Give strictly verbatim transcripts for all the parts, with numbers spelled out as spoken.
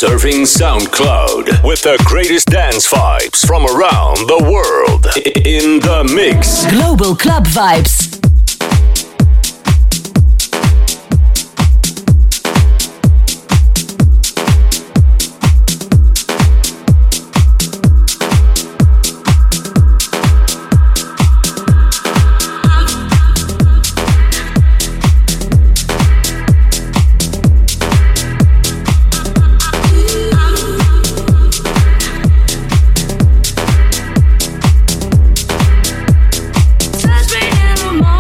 Surfing SoundCloud with the greatest dance vibes from around the world. In the mix. Global Club Vibes. First thing in the morning.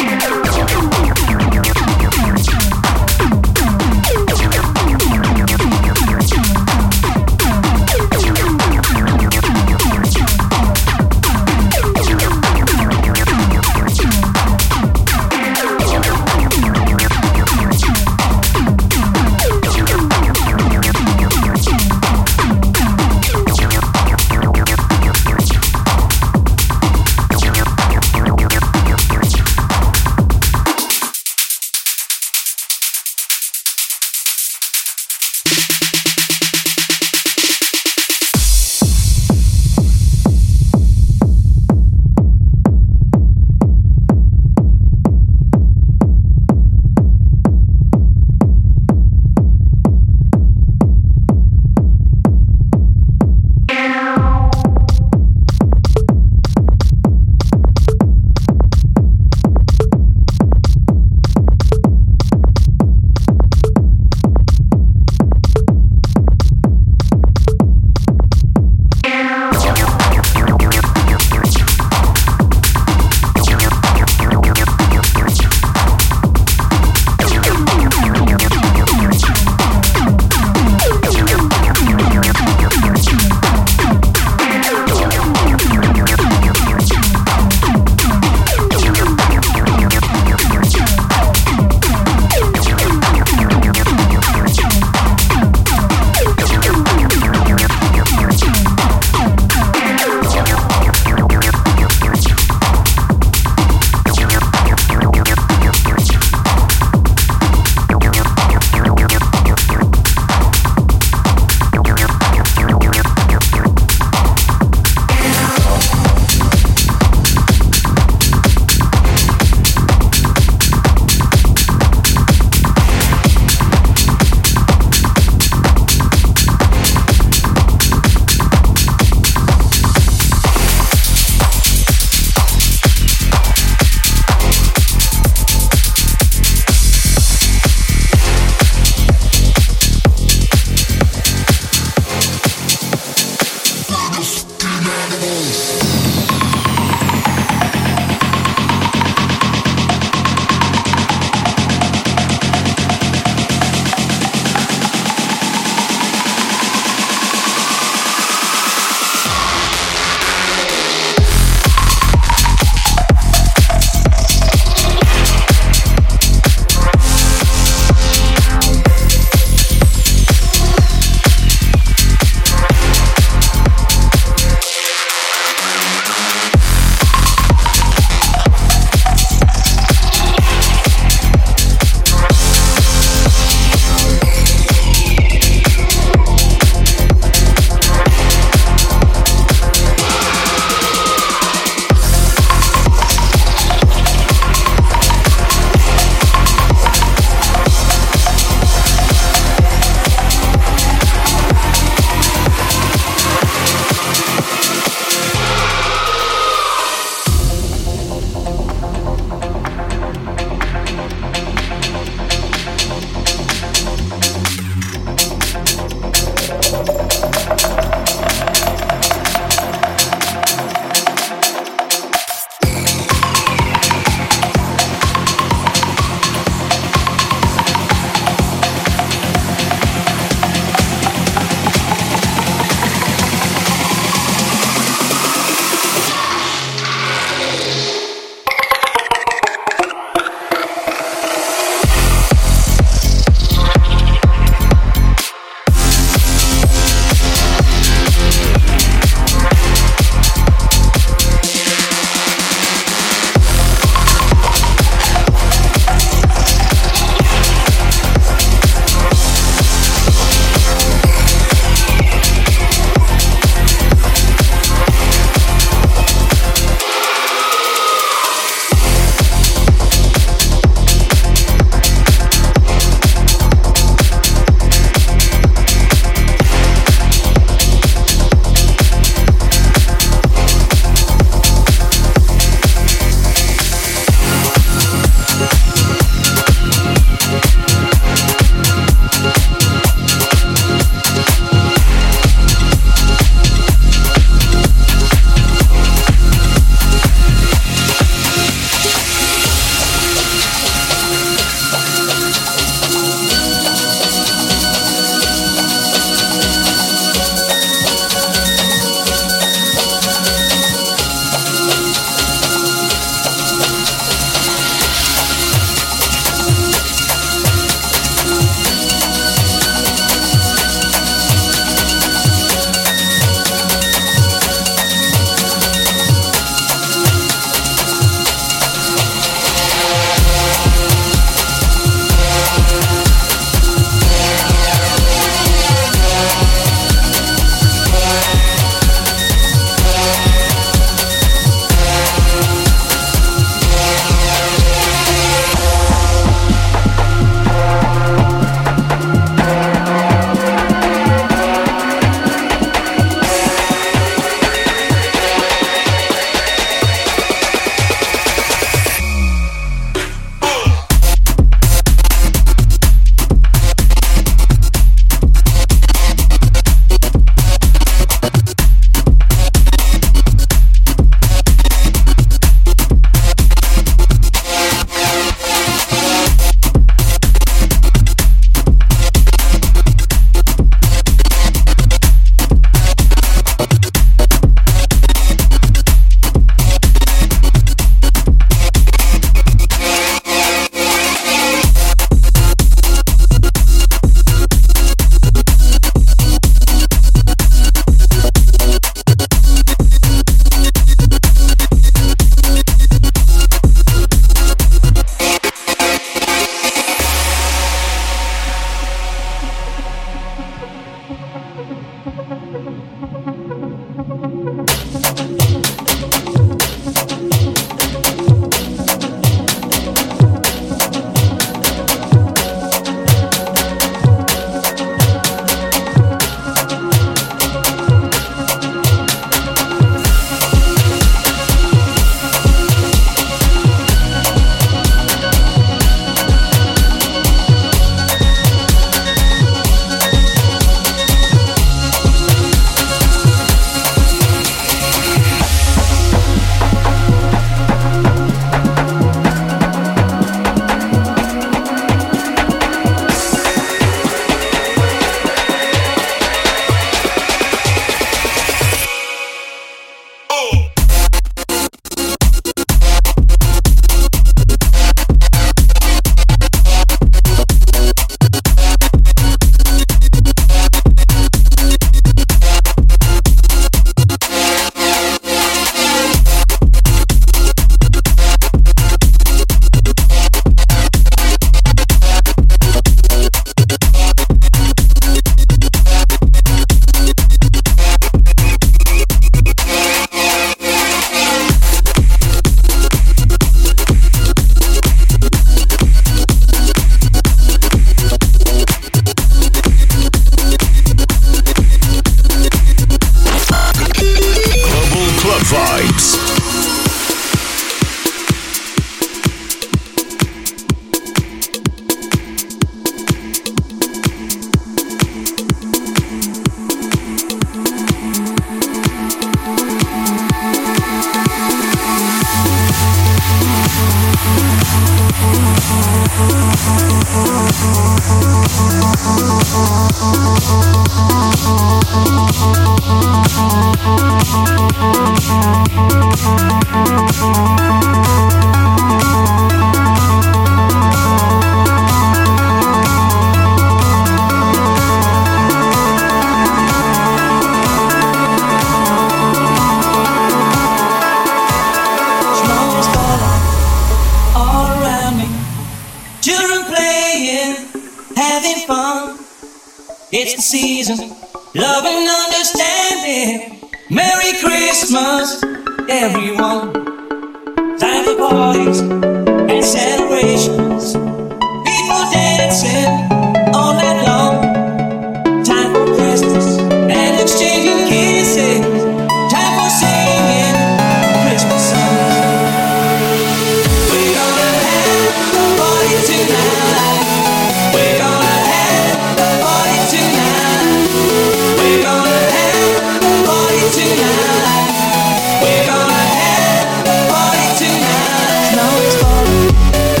It's the season, love and understanding. Merry Christmas, everyone. Time for parties and celebrations. People dancing all night long. Time for Christmas and exchanging kisses. Time for singing Christmas songs. We're gonna have a party tonight. We're gonna have a party tonight. We're gonna have a party tonight. We're gonna have a party tonight. Snow is falling.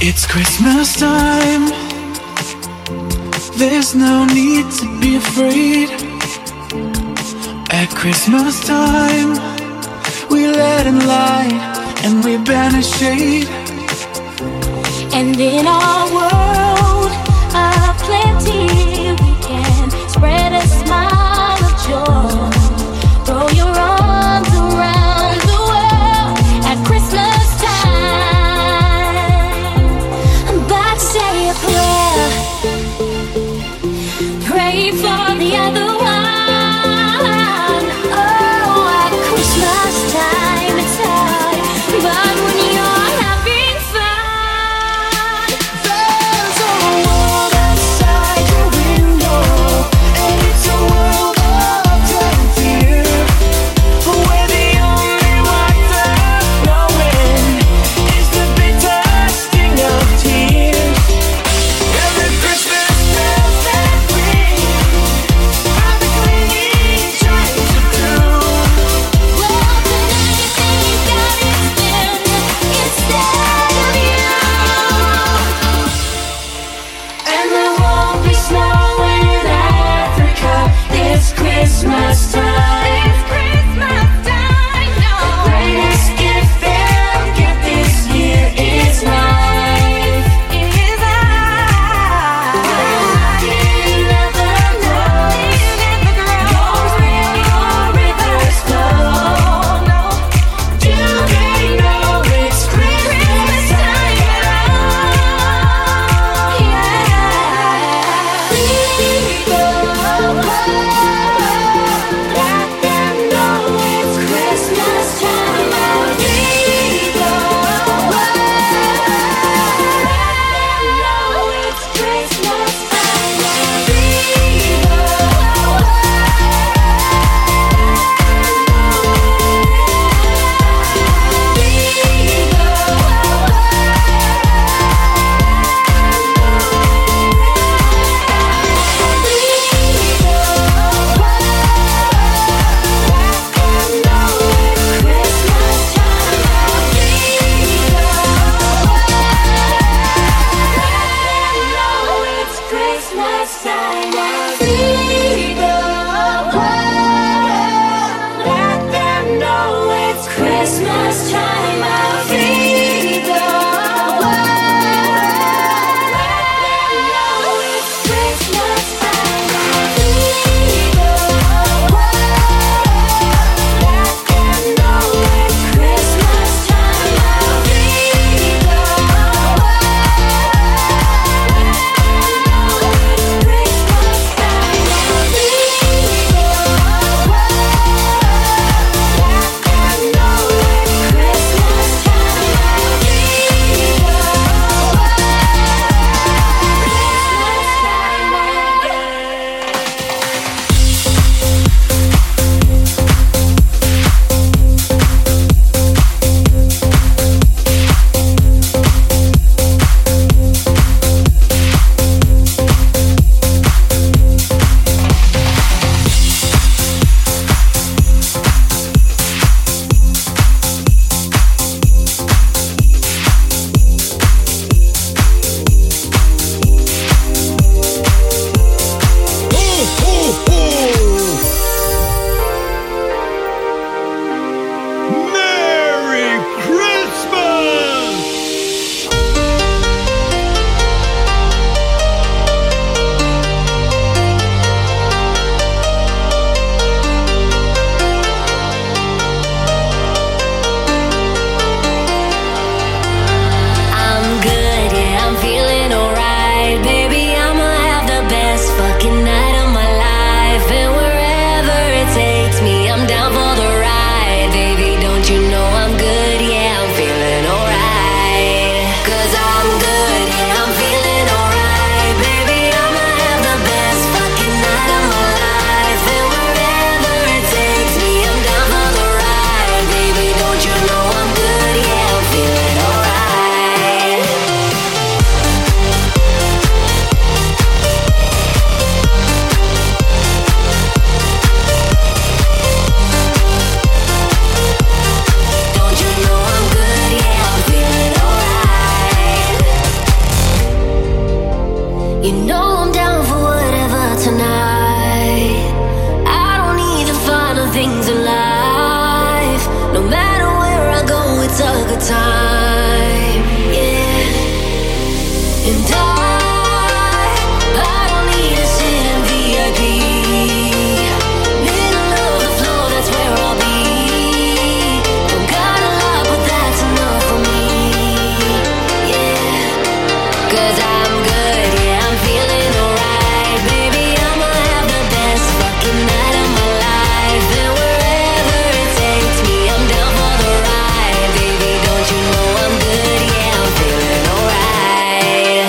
It's Christmas time. There's no need to be afraid. At Christmas time, we let in light and we banish shade. And in our world of plenty, we can spread a smile of joy. Throw your arms around the world at Christmas time. I'm about to say a prayer. Pray for the other one. Oh, at Christmas time it's hard, but when you're having fun, there's a world outside your window. time, yeah. And I, I don't need to sit in V I P. Middle of the floor, that's where I'll be. Don't got a lot, but that's enough for me, yeah. 'Cause I'm good, yeah, I'm feeling alright. Baby, I'ma have the best fucking night of my life. And wherever it takes me, I'm down for the ride. Baby, don't you know I'm good, yeah, I'm feeling alright.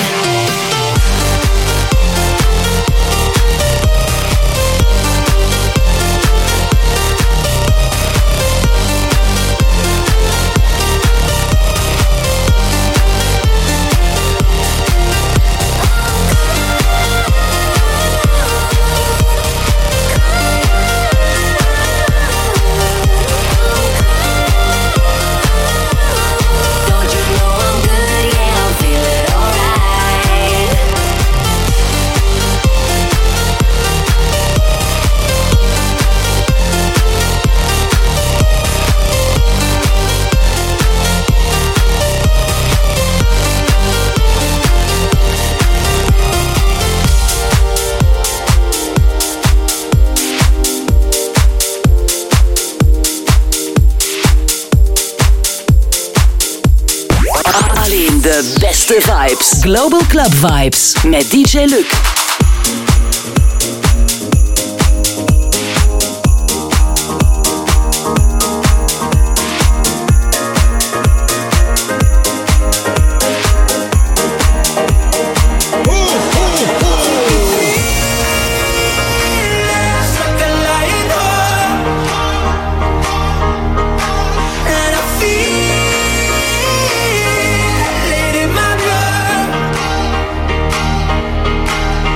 Don't you know I'm good, yeah, I'm feeling alright. Alleen de beste vibes. Global Club Vibes met D J Luc. Like a lion and I feel it in my blood.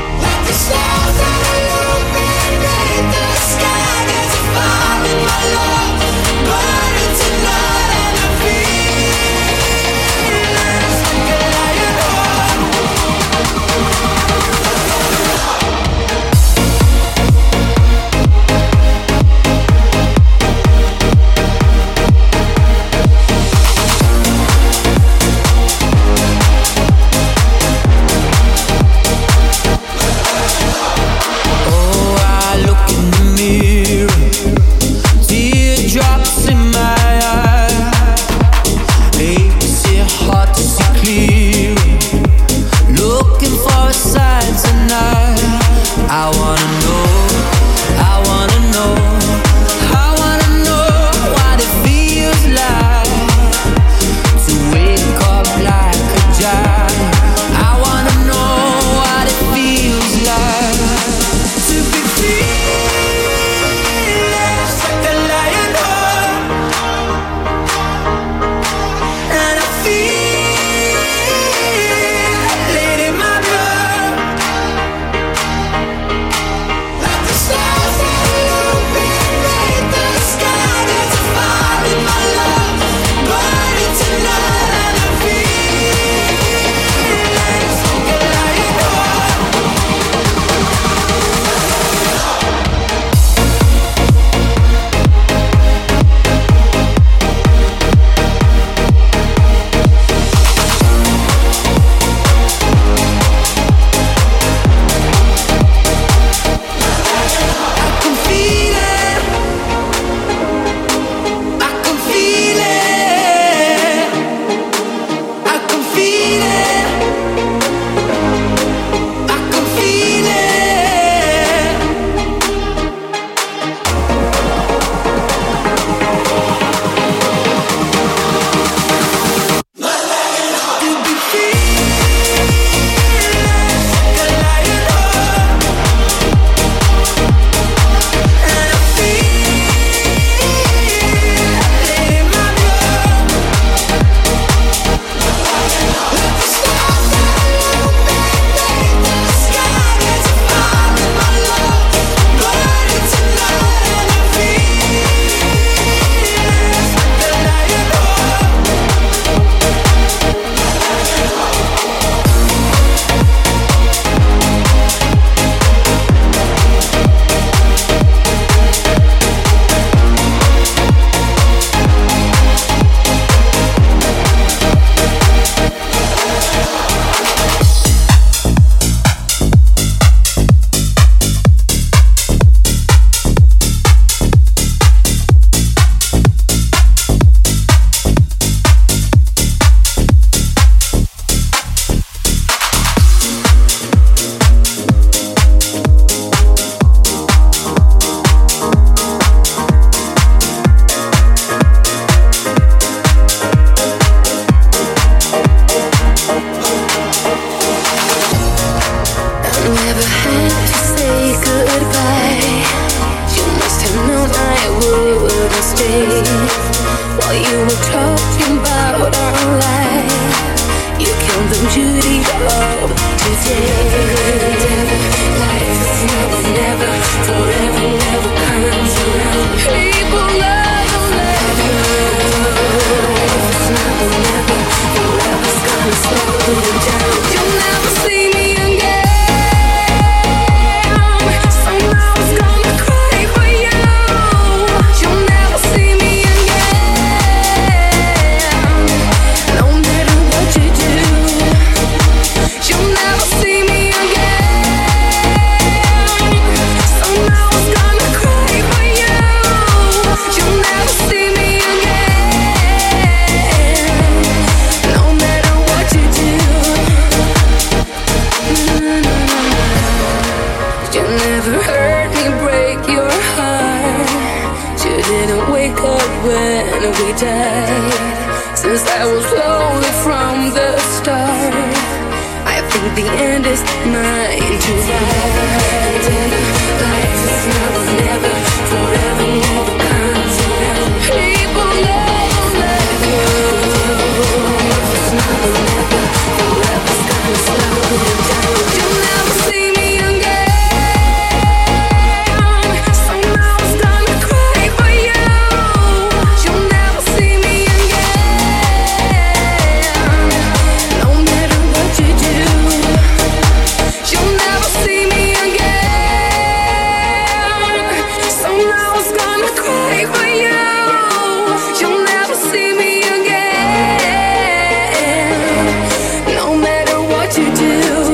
love today. Life is never, never, forever, never comes around. People never let you go. Life is never, never, forever's gonna slow you down. You'll never see me again. Somehow it's gonna cry for you. You'll never see me again. No matter what you do, you'll never see me again. Somehow it's gonna cry for you. You'll never see me again. No matter what you do. You never heard me break your heart. You didn't wake up when we died. Since I was lonely from the start, I think the end is mine to ride. Life is never, never, forever, never comes around. People never let you go. Life is never, never, forever's gonna slow you down. You'll never see me again. Somehow it's gonna cry for you. You'll never see me again. No matter what you do, you'll never see me again. Somehow it's gonna cry for you. You'll never see me again. No matter what you do.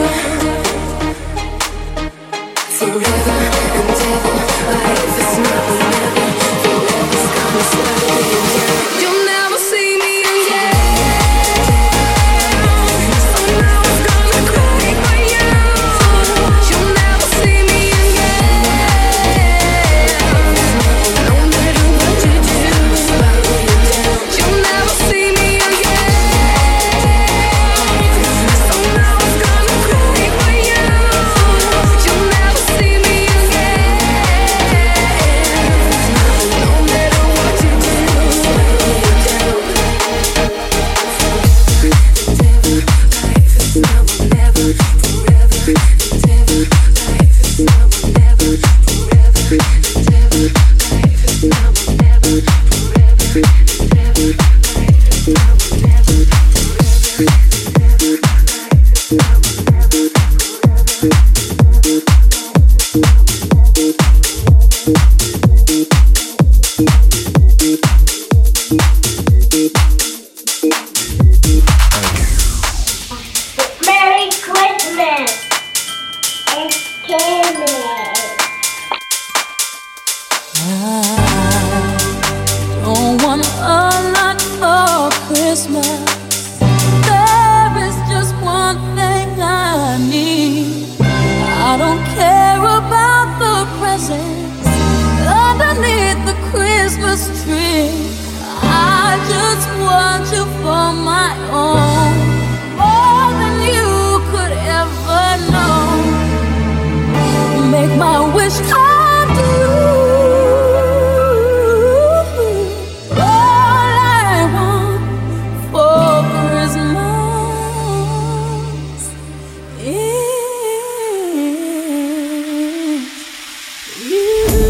Forever and ever, life is never, never, forever's gonna slow you down. You'll never see me again. Somehow it's gonna cry for you. You'll never see me again. No matter what you do, you'll never see me again. Somehow it's gonna cry for you. You'll never see me again. No matter what you do, life is never, never, forever and ever. Life is never, never, forever and ever. Life is never, never, forever and ever. Life is never, never, forever and ever. Merry Christmas and Candyland. Don't want a lot for Christmas. There is just one thing I need. I don't care about the presents underneath the Christmas tree. I just want you for my own, more than you could ever know. Make my wish come true. All I want for Christmas is you.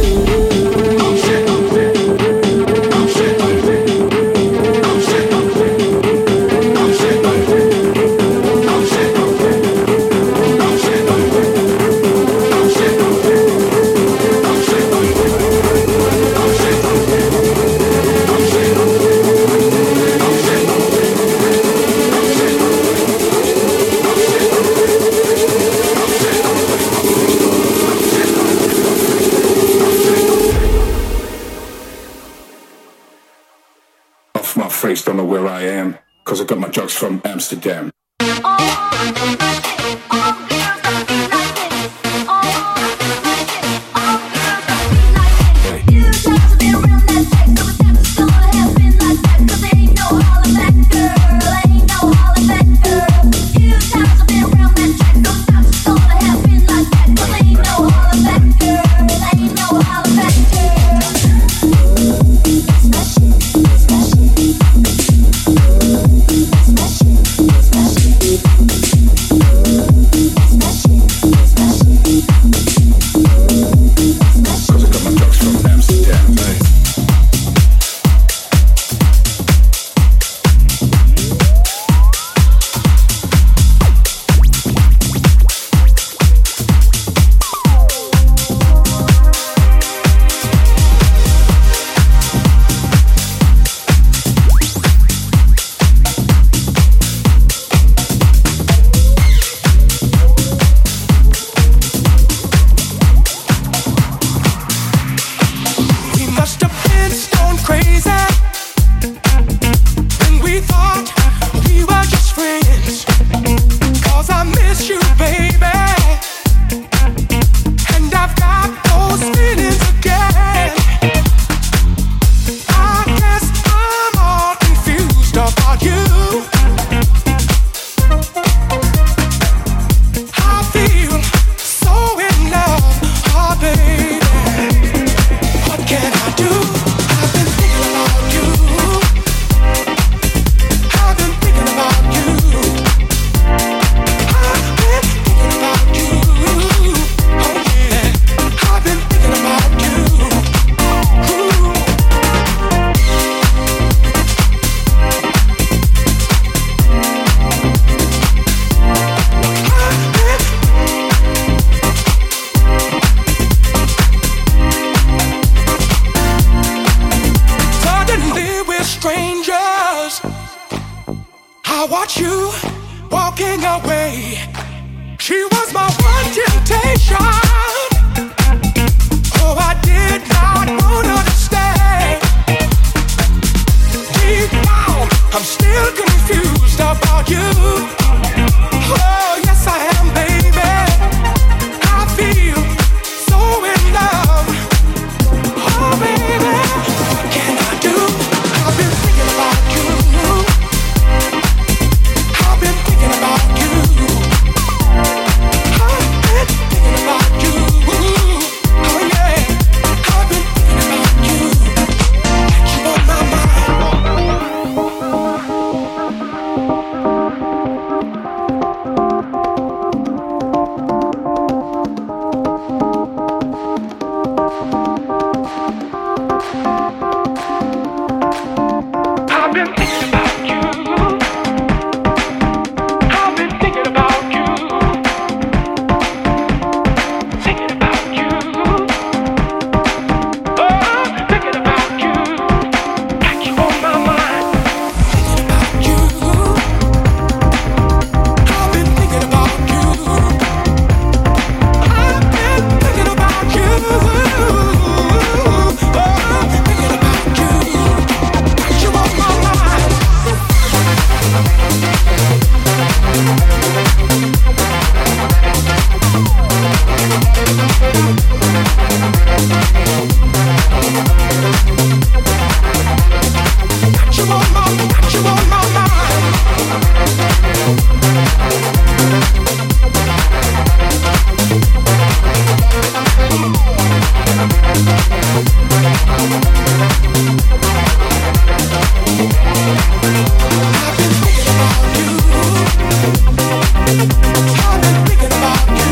Off my face, don't know where I am, cause I got my drugs from Amsterdam. Special, special, special. watched you walking away. She was my one temptation. Oh, I did not want her to stay. Deep down, I'm still confused about you. Oh, yes I am, baby. I feel so in love. Oh, baby, what can I do? I've been thinking about you. I've been thinking about you. I've been thinking about you. Oh yeah, I've been thinking about you. Got you on my I've been thinking about you. I've been thinking about you. Thinking about you. Oh, thinking about you. Got you on my mind. Thinking about you. I've been thinking about you. I've been thinking about you. Oh, thinking about you. Got you on my mind. Got you on my, got you on my mind. I've been thinking about you. I've been thinking about you.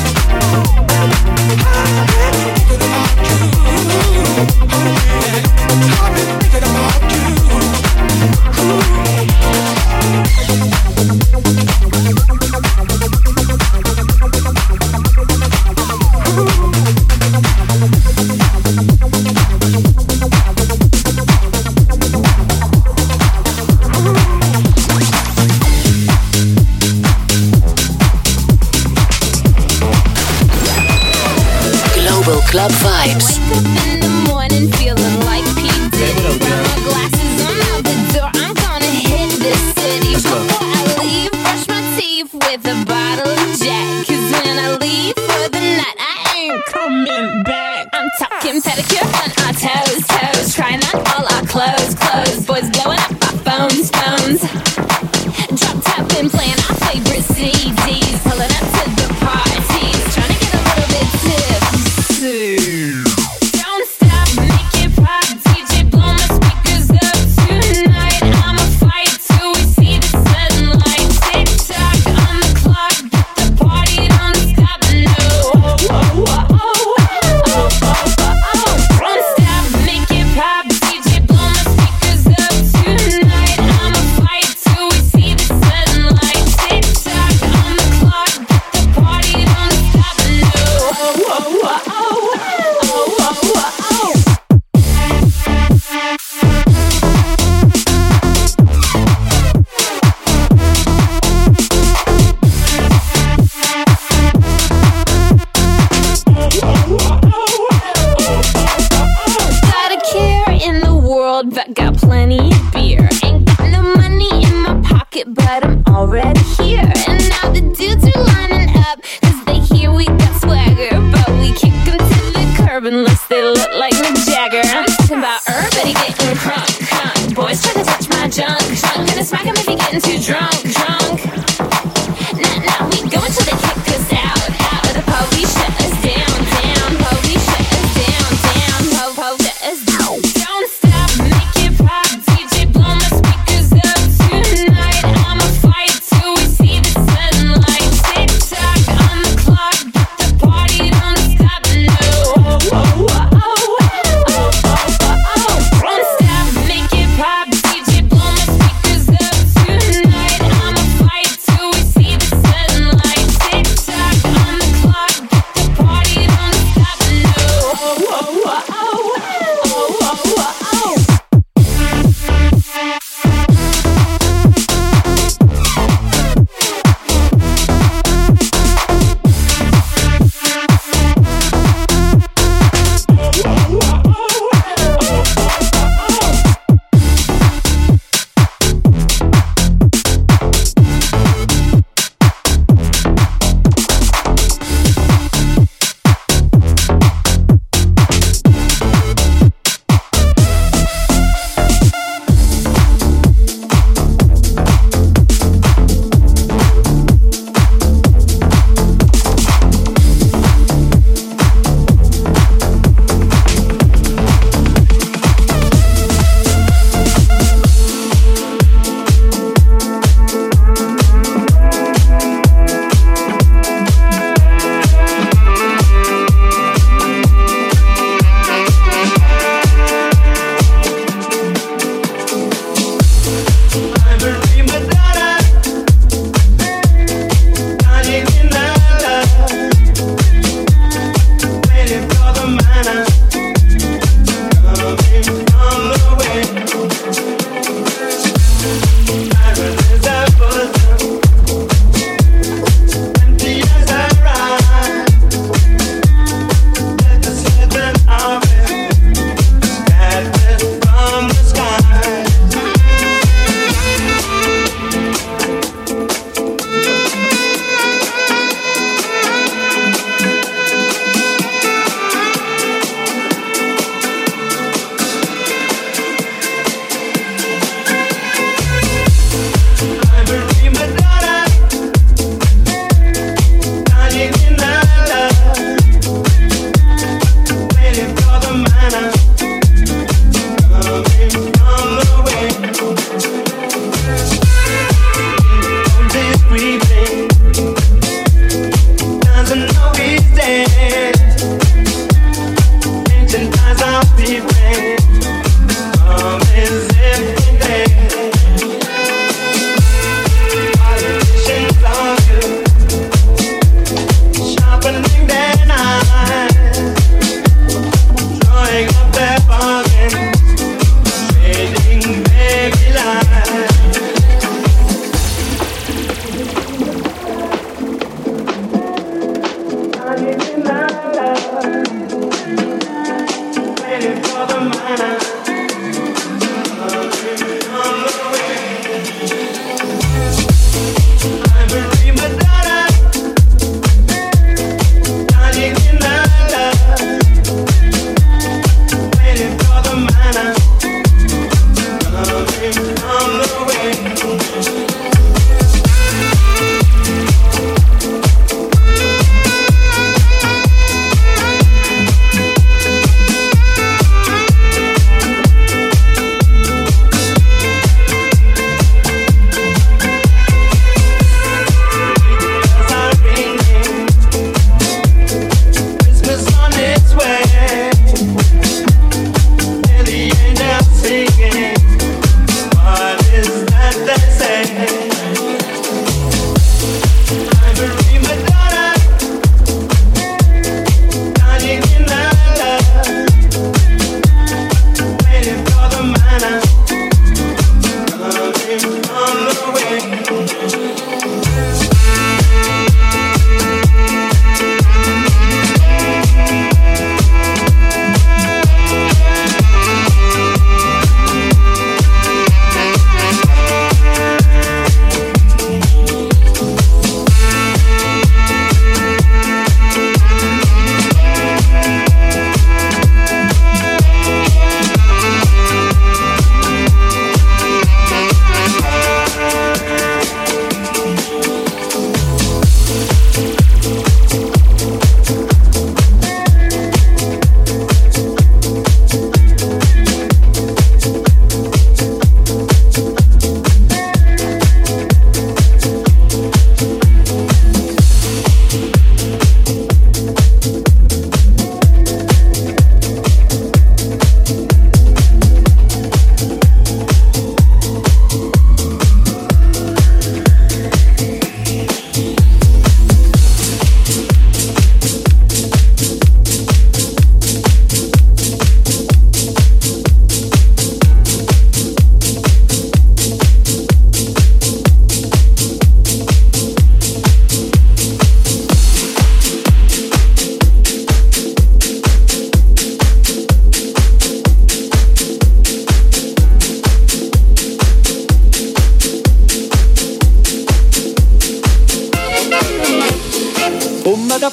I've been thinking about you. Oh yeah, I've been thinking about you. Global Club Vibes. Wake up in the morning feeling like P. Diddy. Got my glasses, I'm out the door. I'm gonna hit this city. Before I leave, brush my teeth with a bottle of Jack. Cause when I leave for the night, I ain't coming back. I'm talking pedicure on our toes, toes. Trying on all our clothes, clothes. Boys blowing up our phones, phones. Drop top and playing our favorite C Ds. Pulling up to the parties. Trying to get a little bit tipsy. Don't stop, make it pop. D J, blow my speakers up tonight. I'ma fight till we see the sunlight. Tick tock on the clock, but the party don't stop. No. Oh, oh, oh, oh, oh, oh, oh, oh. Don't stop, make it pop. D J, blow my speakers up tonight. I'ma fight till we see the sunlight. Tick tock on the clock, but the party don't stop. No. Oh, oh, oh, oh. Got a care in the world, but got plenty of beer. Ain't got no money in my pocket, but I'm already here. And now the dudes are lining up, cause they hear we got swagger. But we kick them to the curb unless they look like Mick Jagger. I'm talking about everybody getting crunk, crunk. Boys try to touch my junk, junk. Gonna smack him if he getting too drunk, drunk. Nah, nah, we go until they kick us out, out. The police shut us down, down. Police shut us down, down. Po, po, shut us down. Don't stop, make it pop. D J, blow my speakers up tonight. I'ma fight till we see the sunlight. Tick tock on the clock, but the party don't stop. No. Oh, oh, oh, oh, oh, oh, oh, oh. Don't stop, make it pop. D J, blow my speakers up tonight.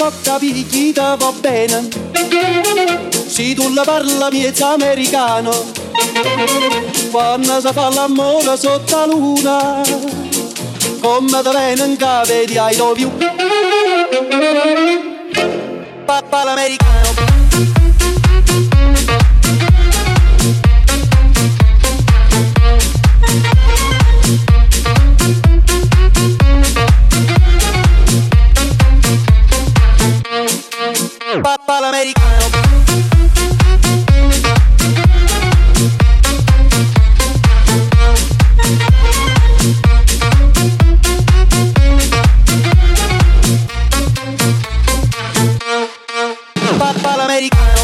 ho capito chi te va bene. Se tu la parla miezza americano, quando si fa l'amore sotto la luna, come te viene in capo di I love you. Papà l'americano. Papà l'americano. Papà l'americano.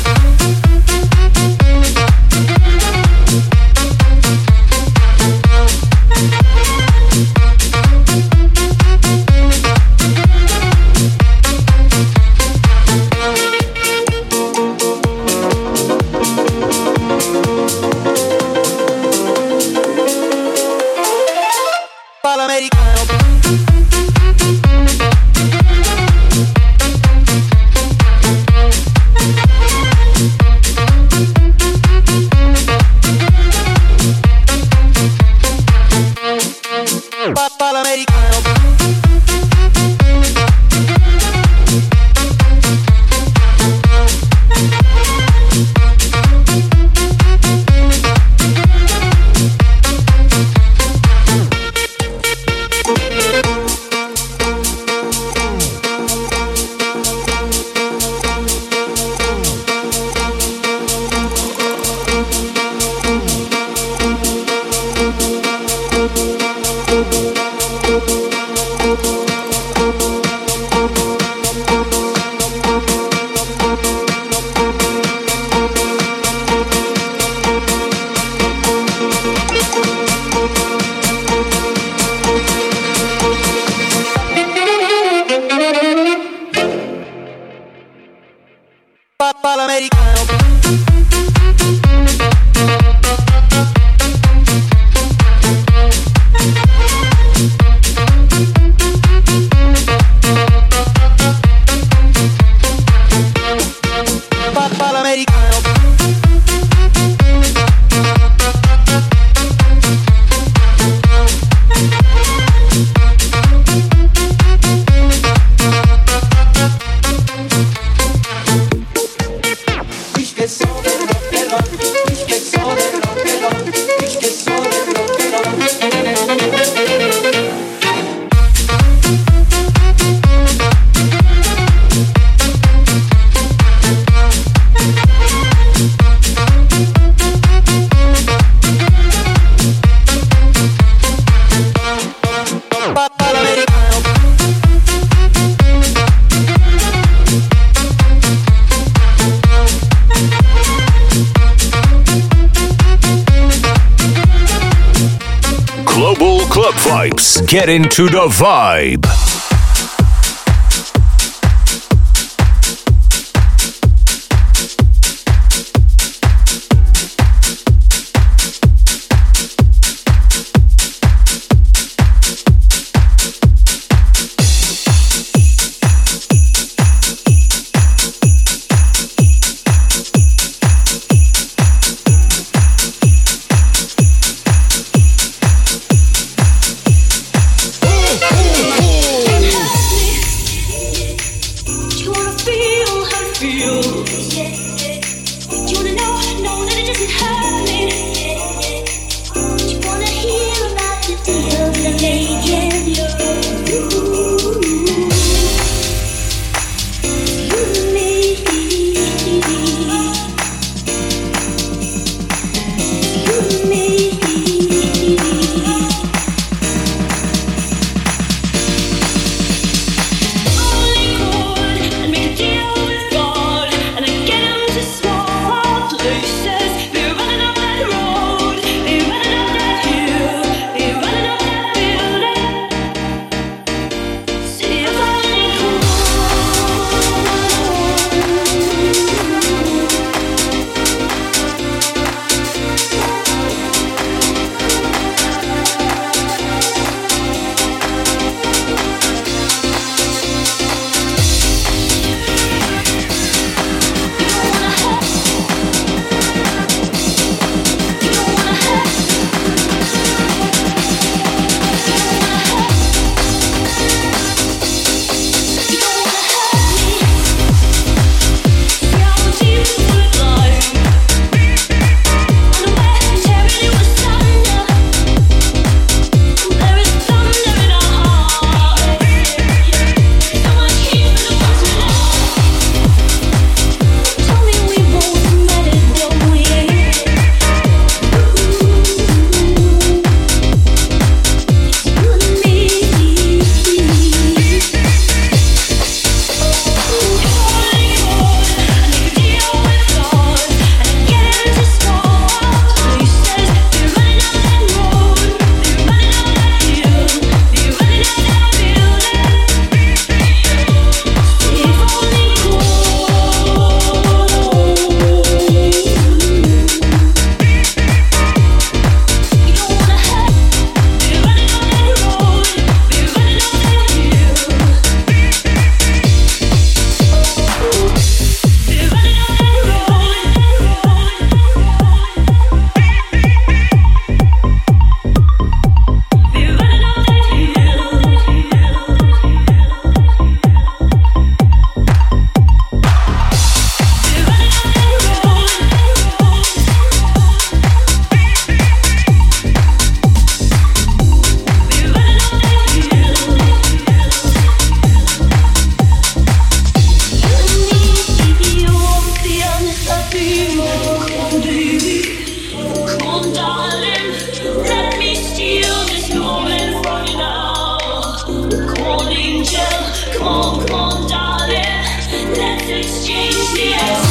Get into the vibe. Ooh, ooh, ooh. on, darling, let me steal this moment from you now. Come on, angel, come on, come on, darling, let's exchange the essence.